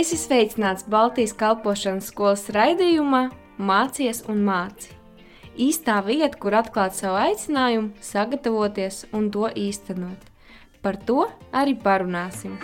Esi sveicināts Baltijas kalpošanas skolas raidījumā Mācies un māci. Īstā vieta, kur atklāt savu aicinājumu, sagatavoties un to īstenot. Par to arī parunāsim.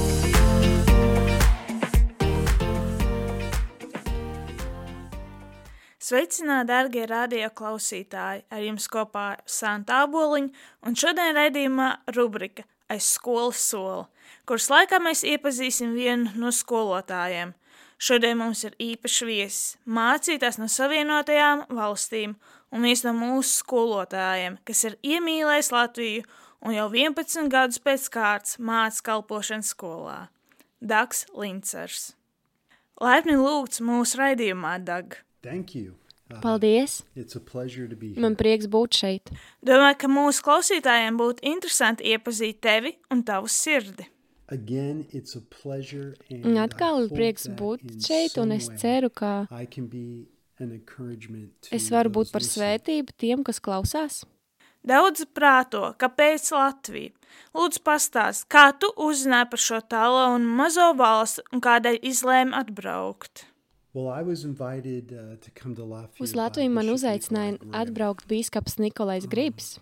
Sveicināti, dārgie radio klausītāji! Ar jums kopā Santa Aboliņa un šodien raidījumā rubrika Aiz skolas sola, kuras laikā mēs iepazīsim vienu no skolotājiem. Šodien mums ir īpašs viesis, mācītājs no Savienotajām valstīm un viens no mūsu skolotājiem, kas ir iemīlējis Latviju un jau 11 gadus pēc kārtas māca kalpošanas skolā. Dags Lincers. Laipni lūgts mūsu raidījumā, Dag. Thank you. Paldies! It's a pleasure to be here. Man prieks būt šeit. Domāju, ka mūsu klausītājiem būtu interesanti iepazīt tevi un tavu sirdi. Again, it's a pleasure Un and atkal ir prieks būt šeit, un es ceru, ka I can be an encouragement to es varu būt those par listening. svētību tiem, kas klausās. Daudz prāto, kāpēc Latvija? Lūdzu pastāst, kā tu uzzināji par šo tālo un mazo valstu un kādēļ izlēmi atbraukt? Well, I was invited to come to Lafayette. Uz by Latviju man Bishop uzaicināja Nikolai Grimm. atbraukt bīskaps Nikolais Gribs.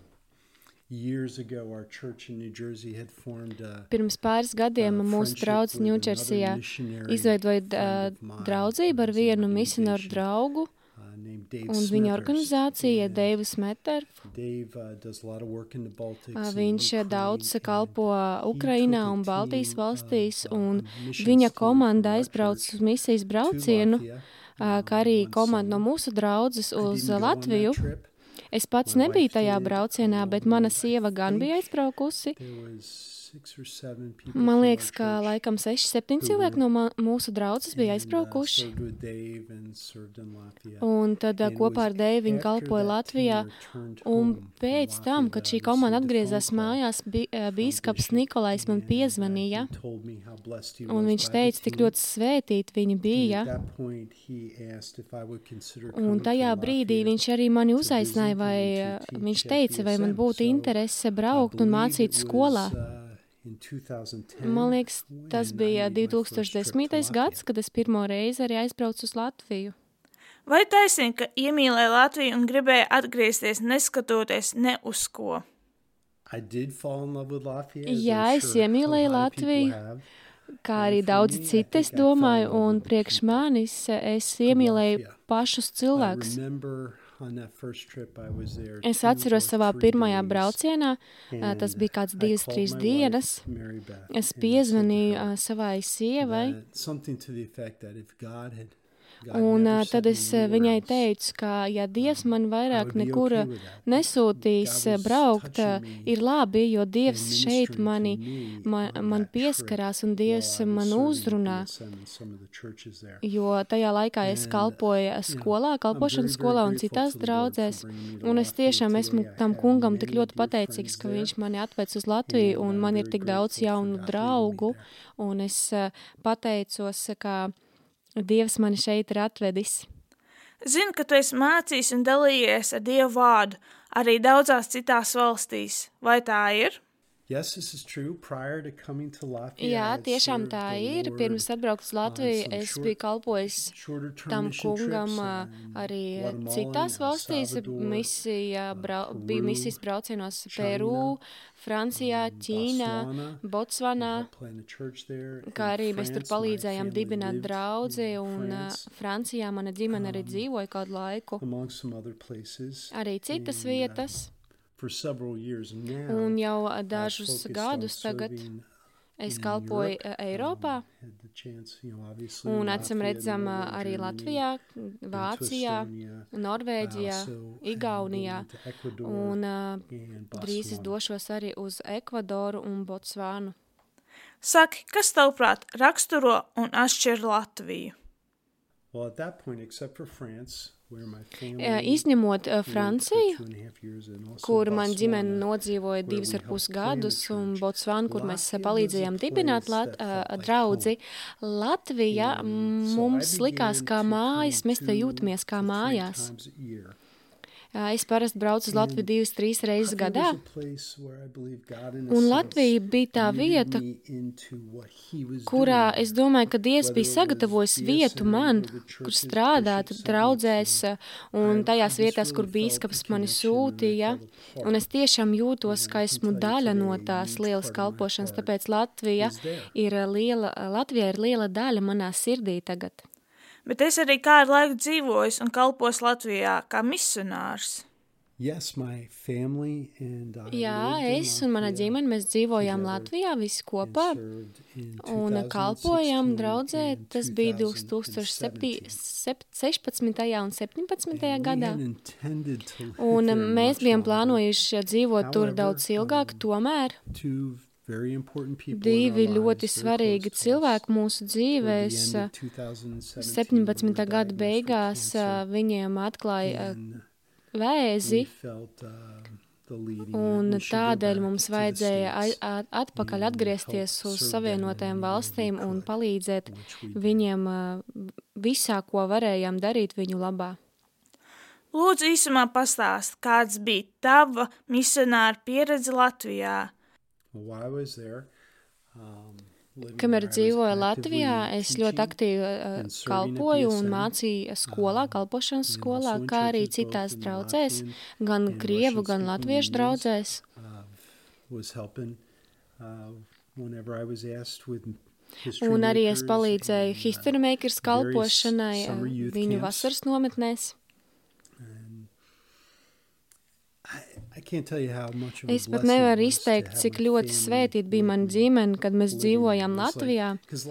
Years ago, our church in New Jersey had formed a Pirms pāris gadiem mūsu friendship draugs with Ņūdžersijā another missionary izveidoja friend of mine draudzību ar who's an vienu misionāru organization, draugu, named Dave un viņa Smethurst. organizācija And Deivu Smetter. Dave does a lot of work in the Baltics and Viņš Ukraine, daudz and kalpo he Ukrainā took a un Baltijas team valstīs, of, un missions viņa team komanda from our aizbrauca church uz misijas to braucienu, Latvia, kā arī one komanda no summer. mūsu draudzes I uz didn't go on that Latviju. trip. Es pats My nebiju wife tajā did, braucienā, bet although mana I sieva gan bija think aizbraukusi. There was 6 or 7 people Man from liekas, our ka church laikam 6-7 who cilvēki were no mūsu draudzes bija and, aizbraukuši. served with Dave and served in Latvia. Un tad And it kopā was ar Deivu viņi after kalpoja that Latvijā. team returned Un home from pēc tam, Latvia, kad that šī I komanda received a atgriezās phone call mājās, from bīskaps Bishop, Nikolais man and, piezvanīja. he told me how blessed he Un was viņš by the teica, cik team. ļoti svētīti viņi And bija. at that point, he asked if I would consider Un coming tajā from brīdī Latvia viņš arī mani to uzaicināja, visit vai and to viņš teach teica, at vai man BSM. būtu So interese I braukt un believe mācīt it skolā. was, in 2010, Man liekas, tas when I bija made my first trip to 2010. gads, Latvia. kad es pirmo reizi arī aizbraucu uz Latviju. Vai taisnība, ka iemīlēji Latviju un gribēji atgriezties neskatoties ne uz ko? I did fall in love with Latvia, as Jā, I'm es sure iemīlēju a lot of people Latviju. have. Kā And arī for daudzi me, I citi, es think I fell in domāju, love un with the priekš people. manis es iemīlēju Latvia. pašus I cilvēkus. remember on that first trip I was there Es 2 atceros or savā 3 pirmajā days, braucienā, and tas bija kāds I 2-3 called my dienas. wife, Mary Beth, Es and I said to piezvanīju her savai sievai, that something to the effect that if God had un never tad sent me es anywhere viņai else, teicu, ka ja Dievs man I vairāk would be nekur okay with that. nesūtīs God was braukt, touching me ir labi, jo and Dievs šeit ministering to mani, me man on that trip pieskarās un while Dievs I was man serving at uzrunā. BSM and some of the churches there. Jo tajā laikā es And, kalpoju skolā, kalpošanas skolā un citās draudzēs, un es tiešām esmu tam kungam tik ļoti pateicīgs, ka viņš mani atvec uz Latviju, un man ir tik daudz jaunu draugu, un es pateicos, ka Dievs mani šeit ir atvedis. Zinu, ka tu esi mācījis un dalījies ar Dievu vārdu arī daudzās citās valstīs. Vai tā ir? Yes, this is true. Prior to coming to Latvia, Jā, I had tiešām served tā the ir. Lord Pirms atbraukt uz Latviju, some es short- biju kalpojis shorter term tam mission kungam trips in arī Guatemala, citās El valstīs. Salvador, Bija Peru, misijas braucienos China, Peru, Francijā, Ķīnā, Botsvanā, plant a church there. kā arī In mēs tur France, my palīdzējām family dibināt lived draudzi, in un France, Francijā mana ģimene arī dzīvoja kādu laiku, among some other places. arī citas And, vietas, for several years now, un jau I dažus focused gadus on tagad serving es in kalpoju Europe. Eiropā, Had the chance, obviously, un in acīm Latvia, redzam Norway, arī Germany, Latvijā, and to Vācijā, Estonia. Norvēģijā, Also, Igaunijā, going to Ecuador un and drīz es Botswana. došos arī uz Ekvadoru un Botsvānu. Saki, kas tavuprāt raksturo un atšķir Latviju? Well, at that point, except for France, where my family Izņemot lived for Franciju, 2.5 years, and also kur man ģimene Botswana, nodzīvoja where we 2,5 helped gadus, plant a un church. Botsvānu, kur mēs Latvia palīdzējām was a dibināt place that felt like draudzi. Latvija And so mums I likās began kā to mājas, come mēs te to jūtamies kā 2-3 mājās. times a year. Es parasti braucu uz Latviju 2-3 reizes gadā. Un Latvija bija tā vieta, kurā es domāju, ka Dievs bija sagatavojis vietu man, kur strādāt draudzēs un tajās vietās, kur bīskaps mani sūtīja. Un es tiešām jūtos, ka esmu daļa no tās lielas kalpošanas, tāpēc Latvija ir liela daļa manā sirdī tagad. Bet es arī kādu laiku dzīvoju un kalpos Latvijā kā misionārs. Yes, my family and I Jā, es un mana ģimene, mēs dzīvojām Latvijā visi kopā un kalpojām draudzē. Tas bija 2016. un 17. gadā. Un mēs bijām plānojuši dzīvot tur daudz ilgāk, tomēr divi ļoti svarīgi cilvēki mūsu dzīvēs 17. gada beigās viņiem atklāja vēzi, un tādēļ mums vajadzēja atpakaļ atgriezties uz Savienotajām valstīm un palīdzēt viņiem visā, ko varējām darīt viņu labā. Lūdzu, īsumā pastāst, kāds bija tava misionāra pieredze Latvijā? Kamēr dzīvoju Latvijā, es ļoti aktīvi kalpoju un mācīju skolā, kalpošanas skolā, kā arī citās draudzēs, gan krievu, gan latviešu draudzēs. Un arī es palīdzēju History Makers kalpošanai viņu vasaras nometnēs. Es pat nevaru izteikt, cik ļoti svētīta bija mana ģimene, kad mēs dzīvojām Latvijā,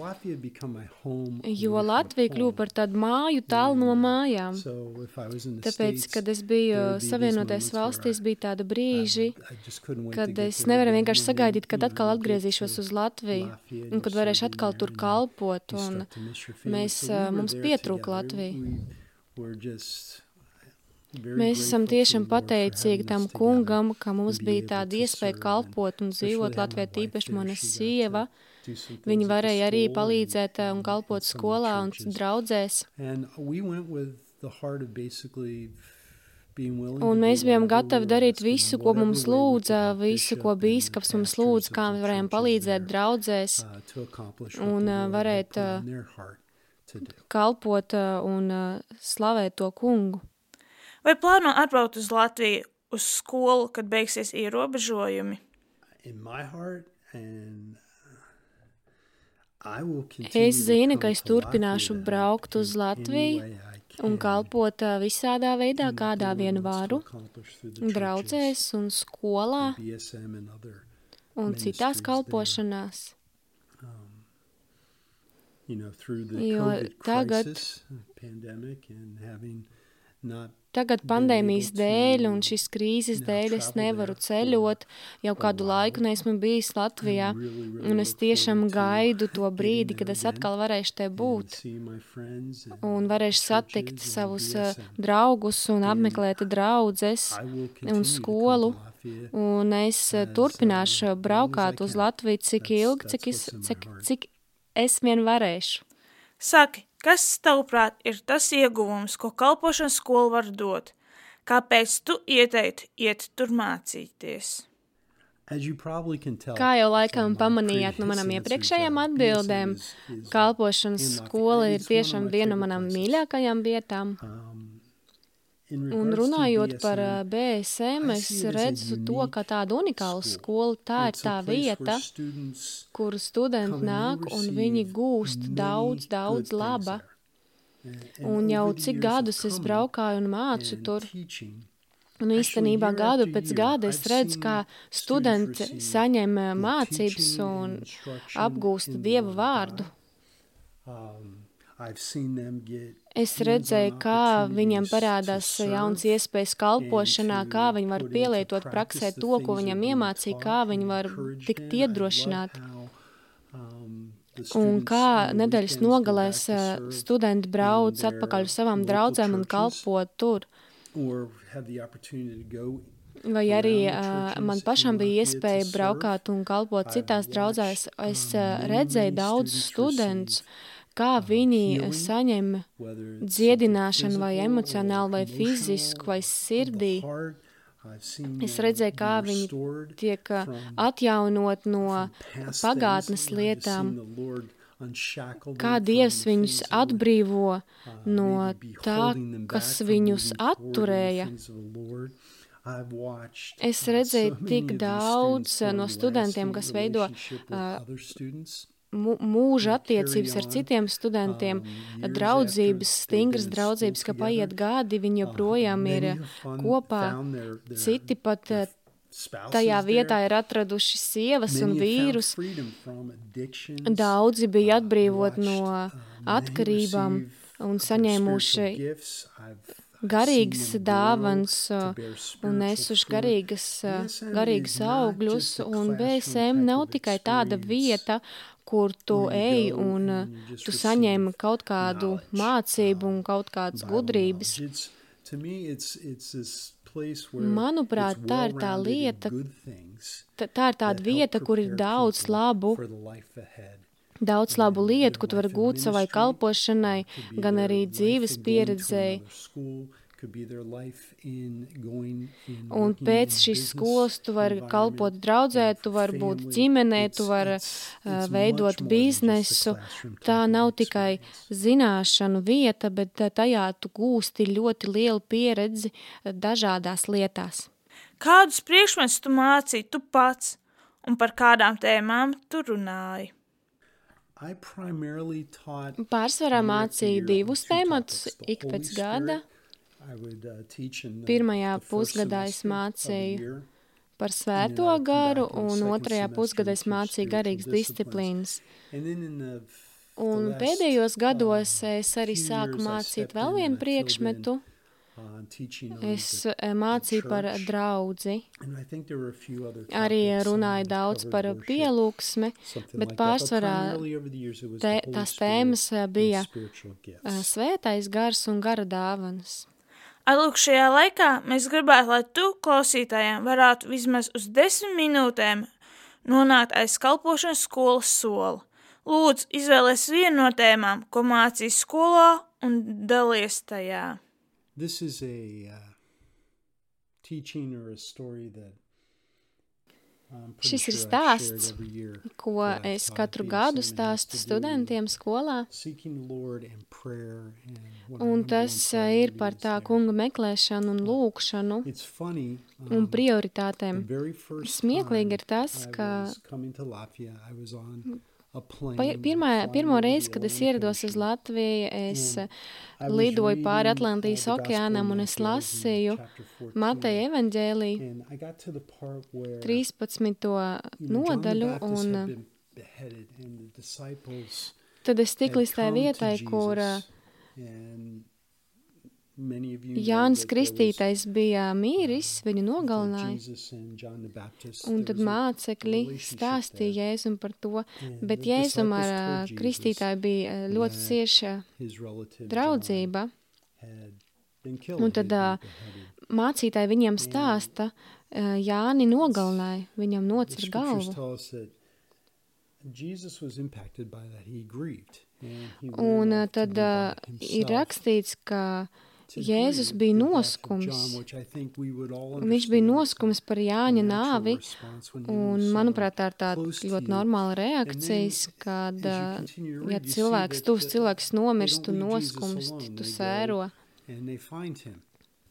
jo Latvija kļuva par tādu māju tālu no mājām. Tāpēc, kad es biju Savienotajās valstīs, bija tāda brīži, kad es nevaru vienkārši sagaidīt, kad atkal atgriezīšos uz Latviju, un kad varēšu atkal tur kalpot, un mums pietrūka Latvija. Mēs esam tiešām pateicīgi tam kungam, ka mums bija tāda iespēja kalpot un dzīvot Latvijā, tīpaši mana sieva. Viņa varēja arī palīdzēt un kalpot skolā un draudzēs. Un mēs bijām gatavi darīt visu, ko mums lūdza, visu, ko bīskaps mums lūdza, kā mēs varējām palīdzēt draudzēs un varēt kalpot un slavēt to kungu. Vai plāno atbraukt uz Latviju uz skolu, kad beigsies ierobežojumi? Es zinu, ka es turpināšu braukt uz Latviju un kalpot visādā veidā, kādā vien varu, draudzēs un skolā un citās kalpošanās. Jo Tagad pandēmijas dēļ un šīs krīzes dēļ es nevaru ceļot, jau kādu laiku neesmu bijis Latvijā, un es tiešām gaidu to brīdi, kad es atkal varēšu te būt un varēšu satikt savus draugus un apmeklēt draudzes un skolu, un es turpināšu braukāt uz Latviju cik ilgi, cik es vien varēšu. Saki, kas, tavuprāt, ir tas ieguvums, ko kalpošanas skola var dot? Kāpēc tu ieteiktu iet tur mācīties? Kā jau laikam pamanījāt no manām iepriekšējām atbildēm, kalpošanas skola ir tiešām viena no manām mīļākajām vietām. Un runājot par BSM, es redzu to, ka tāda unikāla skola, tā ir tā vieta, kur studenti nāk un viņi gūst daudz laba. Un jau cik gadus es braukāju un mācu tur. Un īstenībā gadu pēc gada es redzu, kā studenti saņem mācības un apgūst Dieva vārdu. Es redzēju, kā viņiem parādās jauns iespējas kalpošanā, kā viņi var pielietot praksē to, ko viņam iemācīja, kā viņi var tikt iedrošināti. Un kā nedēļas nogalēs studenti brauc atpakaļ uz savām draudzēm un kalpo tur. Vai arī man pašam bija iespēja braukāt un kalpot citās draudzēs. Es redzēju daudzus studentus, kā viņi saņem whether it's dziedināšanu vai physical emocionāli vai or fizisku vai emotional, sirdī. of the heart. I've seen Es them redzēju, kā be viņi restored tiek from atjaunot no past pagātnes things. I've just lietām, seen the Lord unshackle kā them Dievs from viņus things that were, atbrīvo no maybe be tā, holding them kas back from viņus moving forward in the atturēja. things of the Lord. I've watched Es so redzēju many tik of these daudz students no form studentiem, lasting kas veido relationship with other students. mūža that carry attiecības ar on, citiem studentiem, years draudzības, after they've stingras been in draudzības, school ka paiet gadi, viņi joprojām ir Many have kopā. found their Citi pat spouses tajā vietā there. ir atraduši sievas un Many have found vīrus. freedom from addictions. Daudzi bija atbrīvot Watched, no many atkarībām receive un their saņēmuši spiritual gifts. I've garīgas seen them grow dāvans to bear un spiritual nesuši fruit. garīgas BSM is not augļus, just a un classroom BSM type nav of tikai tāda experience vieta, kur tu where you ej go un and you just tu receive saņem kaut kādu knowledge, mācību un kaut kādas Bible gudrības. knowledge. To me, it's this place where Manuprāt, it's tā ir tā well-rounded in lieta, good things tā ir tāda that vieta, help kur ir prepare daudz people labu, for the life ahead. daudz labu lietu, ko tu vari Life in gūt savai ministry, kalpošanai, could be gan their arī life dzīves in going to pieredzei. another school, could be their life in going in Un working pēc in šīs business skolas tu vari environment, kalpot draudzē, tu for vari būt family. ģimenē, tu vari It's veidot much more than just a biznesu. classroom type Tā of nav tikai experience. zināšanu vieta, bet tajā tu gūsti ļoti lielu pieredzi dažādās lietās. Kādus priekšmetus tu mācīji tu pats un par kādām tēmām tu runāji? I primarily taught Pārsvarā year after mācīju year on divus two tematus topics, the ik Holy pēc gada. Spirit. I would teach in Pirmajā the first pusgadā es semester of the mācīju year. par svēto And then I'd come garu, back in the un second otrajā semester pusgadā and es teach mācīju spiritual garīgas disciplines. disciplīnas. And then in the Un last, pēdējos gados es arī few sāku years I mācīt stepped vēl in vienu and I filled in, priekšmetu. teaching on Es the mācīju par church. draudzi. And I think there were a few other Arī topics, runāju daudz covered par worship, pielūgsmi, something bet like that. But pārsvarā primarily over the years it was the Holy tās Spirit tēmas and bija spiritual gifts. svētais gars un gara dāvanas. Lūk, šajā laikā mēs gribētu, lai tu, klausītājiem, varētu vismaz uz 10 minūtēm nonākt aiz kalpošanas skolas sola. Lūdzu, izvēlies vienu no tēmām, ko mācīji skolā, un dalies tajā. This is a teaching or a story that I'm pretty Šis ir sure I've shared stāsts, every year. ko that es taught katru BSM, gadu and it has stāstu to do studentiem skolā. Seeking the Lord and prayer and what our Un number tas one ir priority par is tā there. kunga meklēšanu un lūkšanu It's funny. un The prioritātēm. very first Smieklīgi ir time tas, I ka was coming to Latvia, I was on a plane flying Pirmo over reizi, the kad es Atlantic ierados uz Ocean. Latviju, es And I was lidoju pāri reading, Atlantijas the Gospel okeānam of un es Matthew. I was in lasīju chapter 14. Mateja evaņģēliju And I got to the part where 13. John the nodaļu, Baptist un had been beheaded, and the disciples tad es tik had līdz tai come to vietai, kur Jesus, and many of you know Jānis that there was, Kristītais bija mīris, viņu that nogalināja. Jesus and John the Baptist, Un there tad was a mācekļi relationship stāstīja there. Jēzum par to, And bet the Jēzum disciples ar told Jesus Kristītāju bija ļoti that cieša his relative draudzība. John had been killed, Un had tad been beheaded. mācītāji viņiem stāsta, Jāni nogalināja, viņam The nocir scriptures galvu. tell us that Jesus was impacted by that. He grieved. And he Un went off to tad be by ir himself rakstīts, ka to Jēzus grieve bija the death of noskums. John, which I think we would all Viņš bija understand noskums par the Jāņa natural nāvi, response when you un, lose manuprāt, tā someone ir tāda close to ļoti you. normāla And then, reakcijas, kad, as you continue to ja read, you see cilvēks, that tuvs they cilvēks nomirst, tu don't leave Jesus noskumst, alone. tu They sēro. go and they find him.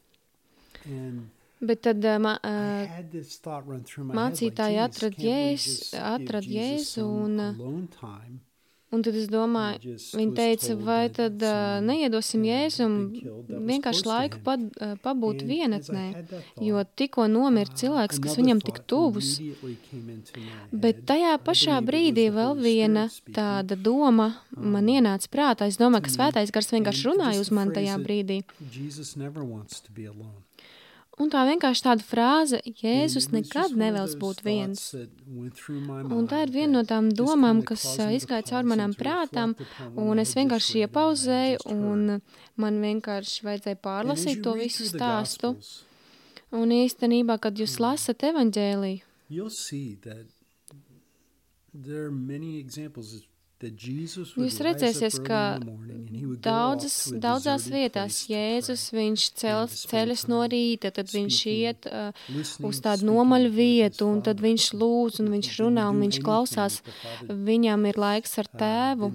And Bet tad I had this thought run through my head, like, mācītāji geez, atrad can't we Jēzu, just give atrad Jesus Jēzu, some un, alone time? un tad es domāju, He just viņi was teica, told vai that tad someone neiedosim had Jēzum been killed that was vienkārši close to laiku him. pabūt And as I vienatnē, had that jo thought, tikko nomira cilvēks, kas another viņam tik thought tuvs. immediately came into my Bet head. tajā I pašā believe it brīdī was the vēl Holy viena Spirit speaking. tāda doma man ienāca prātā. Es domāju, ka to me. svētais gars vienkārši And runāja just uz the mani phrase tajā that brīdī. Jesus never wants to be alone. Un tā vienkārši tāda frāze, And Jēzus it was nekad just one of nevēlas those būt thoughts viens. that went through my Un tā ir mind viena no that tām just domām, kinda kas caused me to izgāja cauri pause manām and to prātām, reflect upon what un I es had vienkārši just read and what I had iepauzēju, just heard. un man vienkārši vajadzēja And as pārlasīt you to read visu through the stāstu. Gospels, Un īstenībā, kad jūs lasat evaņģēliju, you'll see that there are many examples Jūs redzēsiet, ka daudzās vietās Jēzus, viņš ceļas no rīta, tad viņš iet uz tādu nomaļu vietu, un tad viņš lūdz, un viņš runā, un viņš klausās. Viņam ir laiks ar tēvu.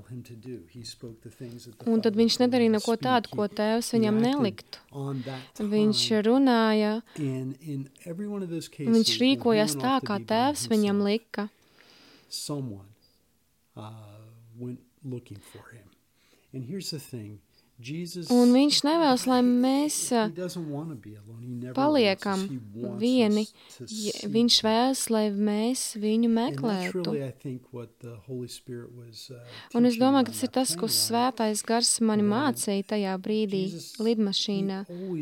Un tad viņš nedarīja neko tādu, ko tēvs viņam neliktu. Viņš runāja, viņš rīkojās tā, kā tēvs viņam lika. Went looking for him. And here's the thing. Jesus, un viņš nevēlas, lai mēs paliekam vieni. Viņš vēlas, lai mēs viņu meklētu. Un es domāju, ka tas ir tas, ko Svētais Gars mani mācīja tajā brīdī lidmašīnā.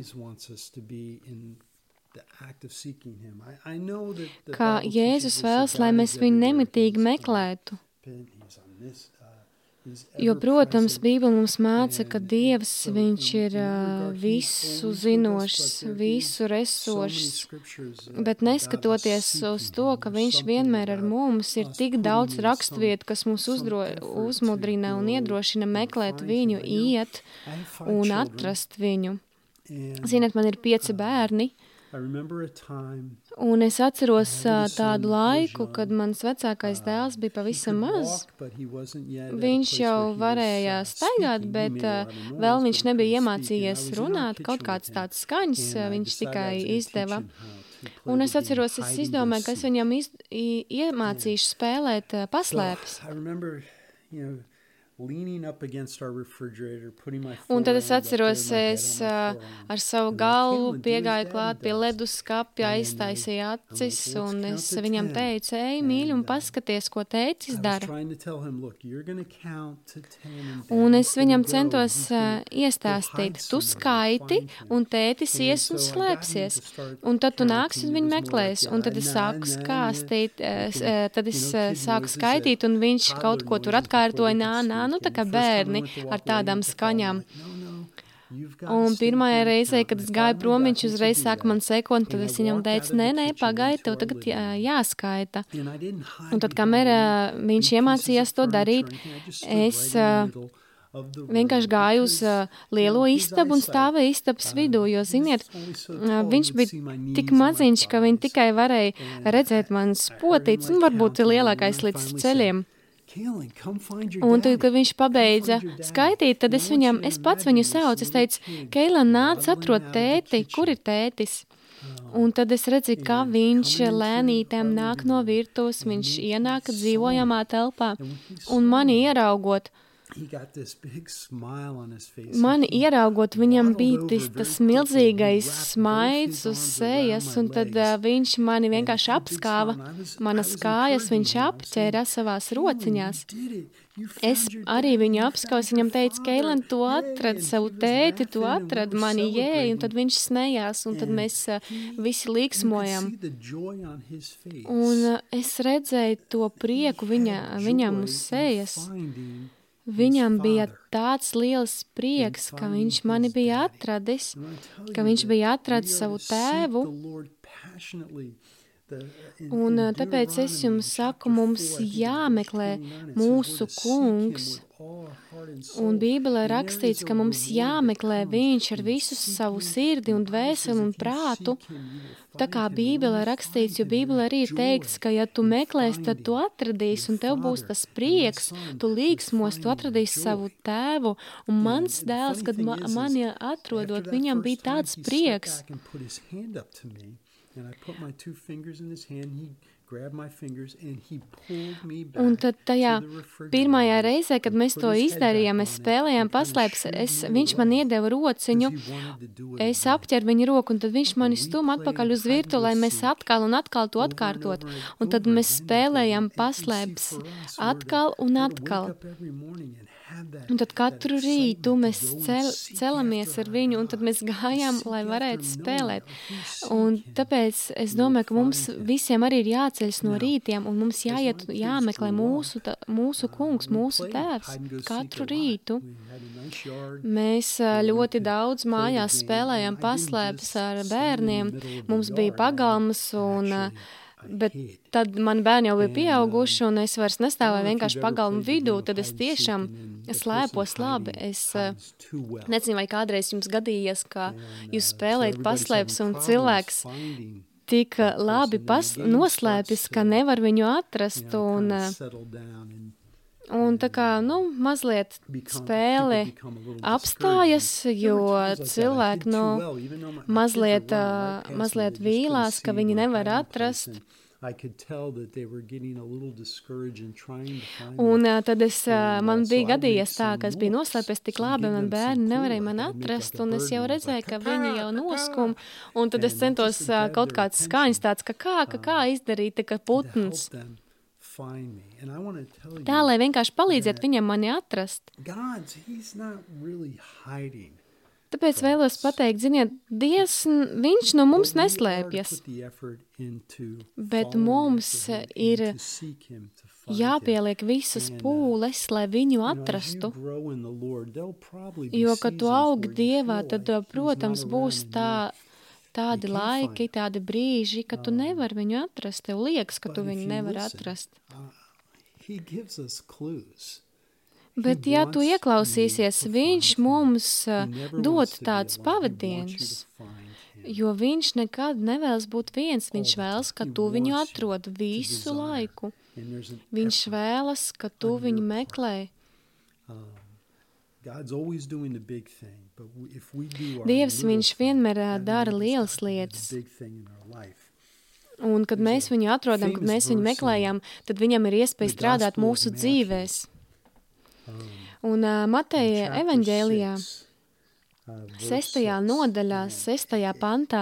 Kā Jēzus vēlas, lai mēs viņu nemitīgi meklētu. Jo, protams, Bībele mums māca, ka Dievs, viņš ir visu zinošs, visu resošs, bet neskatoties uz to, ka viņš vienmēr ar mums, ir tik daudz raksturvietu, kas mūs uzmudrina un iedrošina meklēt viņu, iet un atrast viņu. Ziniet, man ir 5 bērni. Un es atceros tādu laiku, kad mans vecākais dēls bija pavisam maz. Viņš jau varēja staigāt, bet vēl viņš nebija iemācījies runāt, kaut kāds tāds skaņas viņš tikai izdeva. Un es atceros, es izdomāju, ka es viņam iemācīšu spēlēt paslēpes. Un tad es atceros, es ar savu galvu piegāju klāt pie leduskapja, aiztaisīju acis, un es viņam teicu, ej, mīļi, un paskaties, ko tētis dara. Un es viņam centos iestāstīt, tu skaiti, un tētis ies un slēpsies, un tad tu nāks un viņu meklēs, un tad es sāku skāstīt, tad es sāku skaitīt, un viņš kaut ko tur atkārtoja, nu tā kā bērni ar tādām skaņām. Un pirmajā reizē, kad es gāju prom, viņš uzreiz sāka man sekot, tad es viņam teicu, nē, pagaidi, tev tagad jāskaita. Un tad, kamēr viņš iemācījās to darīt, es vienkārši gāju uz lielo istabu un stāvēju istabas vidū, jo, ziniet, viņš bija tik maziņš, ka viņi tikai varēja redzēt manas potītes, un varbūt lielākais līdz ceļiem. Un tad, kad viņš pabeidza skaitīt, tad es pats viņu saucu. Es teicu, Keilan, nāc, atrod tēti, kur ir tētis? Un tad es redzu, kā viņš lēnītēm nāk no virtuves, viņš ienāk dzīvojamā telpā, un mani ieraugot, viņam bija tas milzīgais smaids uz sejas, un tad viņš mani vienkārši apskāva, manas kājas viņš apķēra savās rociņās. Es arī viņu apskauju, viņam teicu, Keilan, tu atradi savu tēti, tu atradi mani jēju, un tad viņš smējās, un tad mēs visi līksmojam. Un es redzēju to prieku viņam uz sejas. Viņam bija tāds liels prieks, ka viņš mani bija atradis, ka viņš bija atradis savu tēvu. Un tāpēc es jums saku, mums jāmeklē mūsu kungs. Un Bībelē rakstīts, ka mums jāmeklē viņš ar visu savu sirdi un dvēseli un prātu. Tā kā Bībelē rakstīts, jo Bībelē arī ir teikts, ka ja tu meklēsi, tad tu atradīsi un tev būs tas prieks, tu līksmos, tu atradīsi savu tēvu. Un mans dēls, kad mani atrodot, viņam bija tāds prieks. Un tad tajā pirmajā reizē, kad mēs to izdarījām, mēs spēlējām paslēpes, viņš man iedeva rociņu, es apķeru viņa roku, un tad viņš mani stum atpakaļ uz virtu, lai mēs atkal un atkal to atkārtot. Un tad mēs spēlējām paslēpes atkal un atkal. Un tad katru rītu mēs celamies ar viņu, un tad mēs gājām, lai varētu spēlēt. Un tāpēc es domāju, ka mums visiem arī ir jāceļas no rītiem, un mums jāmeklē mūsu kungs, mūsu tēvs katru rītu. Mēs ļoti daudz mājās spēlējām paslēpes ar bērniem. Mums bija pagalmas, un Bet tad man bērni jau bija pieauguši, un es vairs nestāvēju vienkārši pagalmu vidū, tad es tiešām slēpos labi. Es nezinu, vai kādreiz jums gadījies, ka jūs spēlējat paslēpes, un cilvēks tik labi noslēpjas, ka nevar viņu atrast, un tā kā, mazliet spēle apstājas, jo cilvēki, mazliet vīlās, ka viņi nevar atrast. Un tad man bija gadījies tā, ka es biju noslēpies tik labi, un man bērni nevarēja man atrast, un es jau redzēju, ka viņi jau noskum, un tad es centos kaut kāds skaņas tāds, ka kā izdarīt, ka putns. Tā, lai vienkārši palīdziet viņam mani atrast. Tāpēc vēlos pateikt, ziniet, Dievs, viņš no mums neslēpjas, bet mums ir jāpieliek visas pūles, lai viņu atrastu, jo, kad tu augi Dievā, tad, protams, būs tādi laiki, tādi brīži, ka tu nevar viņu atrast, tev liekas, ka tu viņu nevar atrast. Bet, ja tu ieklausīsies, viņš mums dod tādus pavadienus, jo viņš nekad nevēlas būt viens, viņš vēlas, ka tu viņu atrod visu laiku. Viņš vēlas, ka tu viņu meklē. Dievs, viņš vienmēr dara lielas lietas. Un, kad mēs viņu atrodam, kad mēs viņu meklējam, tad viņam ir iespēja strādāt mūsu dzīvēs. Un Mateja evaņģēlijā 6. nodaļā, 6. pantā,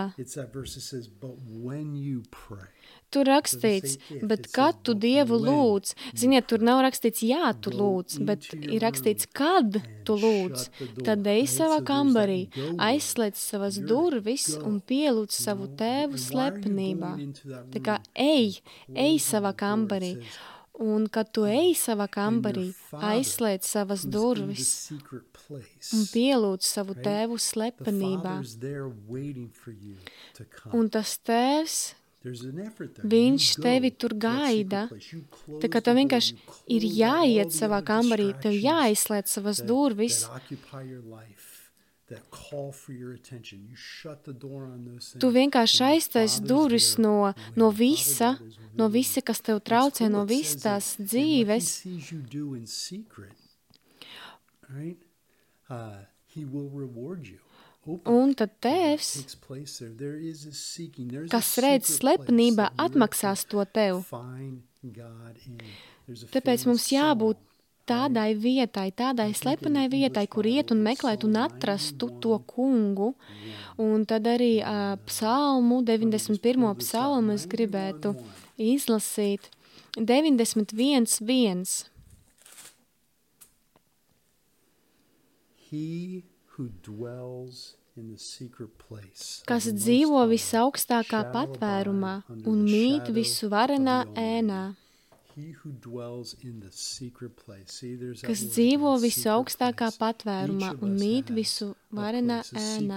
tur rakstīts, bet kad tu Dievu lūdz, ziniet, tur nav rakstīts jā, tu lūdz, bet ir rakstīts, kad tu lūdz, tad ej savā kambarī, aizslēdz savas durvis un pielūdz savu tēvu slepenībā. Tā kā ej savā kambarī. Un, kad tu ej savā kambarī, aizslēdz savas durvis un pielūdz savu tēvu slepenībā. Un tas tēvs, viņš tevi tur gaida. Tā kā tev vienkārši ir jāiet savā kambarī, tev jāizslēdz savas durvis. Tu vienkārši aiztais durvis no visa, kas tev traucē, no visas tās dzīves. Un tad tēvs, kas redz slepenībā, atmaksās to tev. Tāpēc mums jābūt tādai vietai, tādai slepenai vietai, kur iet un meklēt un atrastu to kungu. Un tad arī psalmu, 91. psalmu es gribētu izlasīt. 91.1. Kas dzīvo visaugstākā patvērumā un mīt visu varenā ēnā. Kas dzīvo visu augstākā patvērumā un mīt visu varenā ēnā.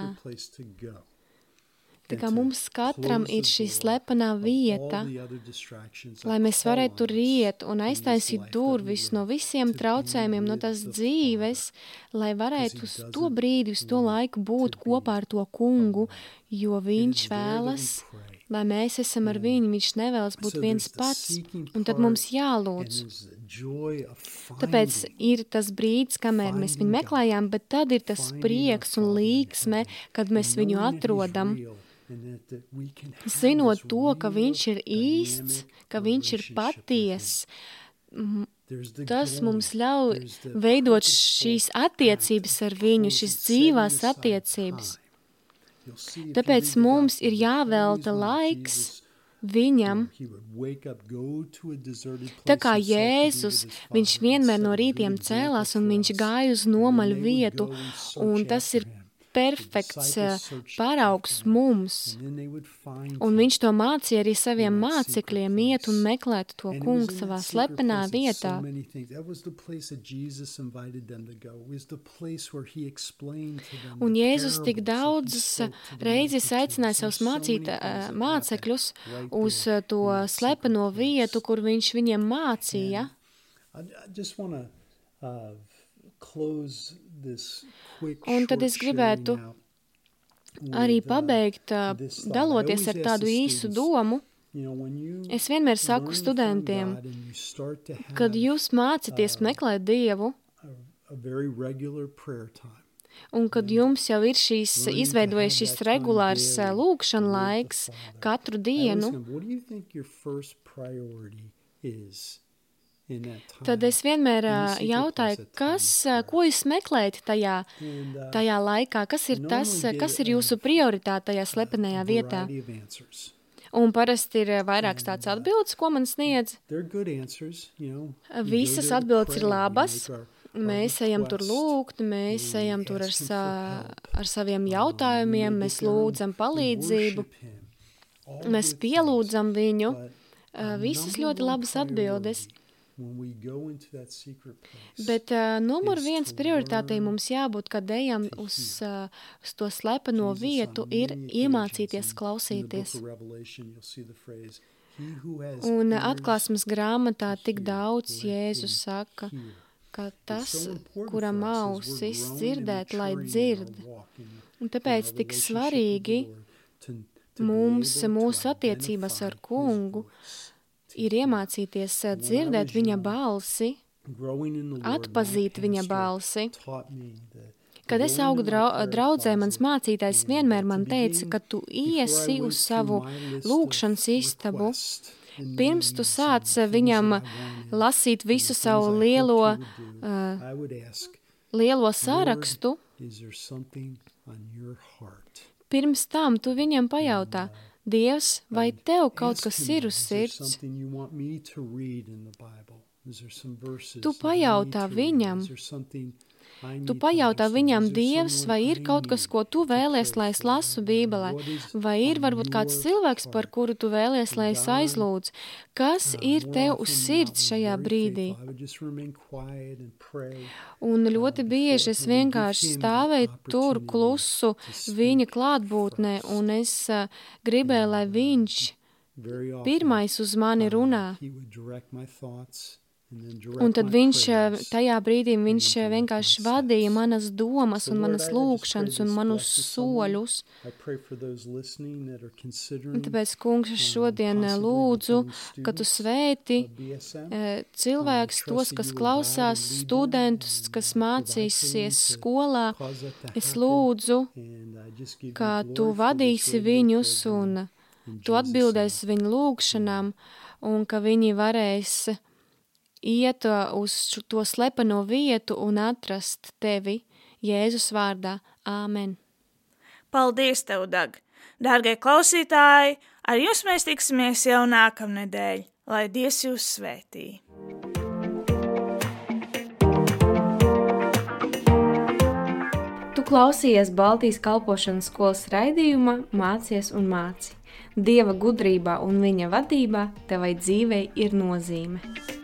Tā kā mums katram ir šī slepenā vieta, lai mēs varētu tur iet un aiztaisīt durvis no visiem traucējumiem, no tās dzīves, lai varētu uz to brīdi, uz to laiku būt kopā ar to kungu, jo viņš vēlas, lai mēs esam ar viņu, viņš nevēlas būt viens pats, un tad mums jālūdz. Tāpēc ir tas brīdis, kamēr mēs viņu meklējām, bet tad ir tas prieks un līksme, kad mēs viņu atrodam, zinot to, ka viņš ir īsts, ka viņš ir paties. Tas mums ļauj veidot šīs attiecības ar viņu, šīs dzīvās attiecības. Tāpēc mums ir jāvelta laiks viņam. Tā kā Jēzus, viņš vienmēr no rītiem cēlās un viņš gāja uz nomaļu vietu, un tas ir perfekts paraugs mums. Un viņš to mācīja arī saviem mācekļiem iet un meklēt to kungu savā slepenā vietā. Un Jēzus tik daudzas reizes aicināja savus mācekļus uz to slepeno vietu, kur viņš viņiem mācīja. Un tad es gribētu arī pabeigt, daloties ar tādu īsu domu. Es vienmēr saku studentiem, kad jūs mācāties meklēt Dievu, un kad jums jau ir izveidojies šis regulārs lūkšana laiks katru dienu, tad es vienmēr jautāju, ko jūs meklējat tajā laikā, kas ir jūsu prioritāte tajā slepenajā vietā. Un parasti ir vairākas tāds atbildes, ko man sniedz. Visas atbildes ir labas. Mēs ejam tur lūgt, mēs ejam tur ar saviem jautājumiem, mēs lūdzam palīdzību, mēs pielūdzam viņu. Visas ļoti labas atbildes. Bet numur 1 prioritātei mums jābūt, kad ejam uz to slepeno vietu, ir iemācīties klausīties. Un Atklāsmes grāmatā tik daudz Jēzus saka, ka tas, kuram ausis dzirdēt, lai dzird. Un tāpēc tik svarīgi mūsu attiecības ar kungu ir iemācīties dzirdēt viņa balsi, atpazīt viņa balsi. Kad es augu draudzē, mans mācītājs vienmēr man teica, ka tu iesi uz savu lūkšanas istabu, pirms tu sāc viņam lasīt visu savu lielo sarakstu, pirms tam tu viņam pajautā, Dievs, vai tev kaut kas ir uz sirds? Tu pajautā viņam, Dievs, vai ir kaut kas, ko tu vēlies, lai es lasu Bībelē? Vai ir varbūt kāds cilvēks, par kuru tu vēlies, lai es aizlūdzu? Kas ir tev uz sirds šajā brīdī? Un ļoti bieži es vienkārši stāvēju tur klusu viņa klātbūtnē, un es gribēju, lai viņš pirmais uz mani runā. Un tad tajā brīdī viņš vienkārši vadīja manas domas un manas lūkšanas un manus soļus. Un tāpēc, kungs, es šodien lūdzu, ka tu svēti cilvēkus, tos, kas klausās, studentus, kas mācīsies skolā. Es lūdzu, ka tu vadīsi viņus un tu atbildēsi viņu lūkšanām un ka viņi varēs iet uz to slepeno vietu un atrast tevi Jēzus vārdā. Āmen. Paldies tev, Dag! Dārgie klausītāji, ar jums mēs tiksimies jau nākamnedēļ, lai Dievs jūs svētī. Tu klausījies Baltijas kalpošanas skolas raidījuma Mācies un māci. Dieva gudrībā un viņa vadībā tevai dzīvei ir nozīme.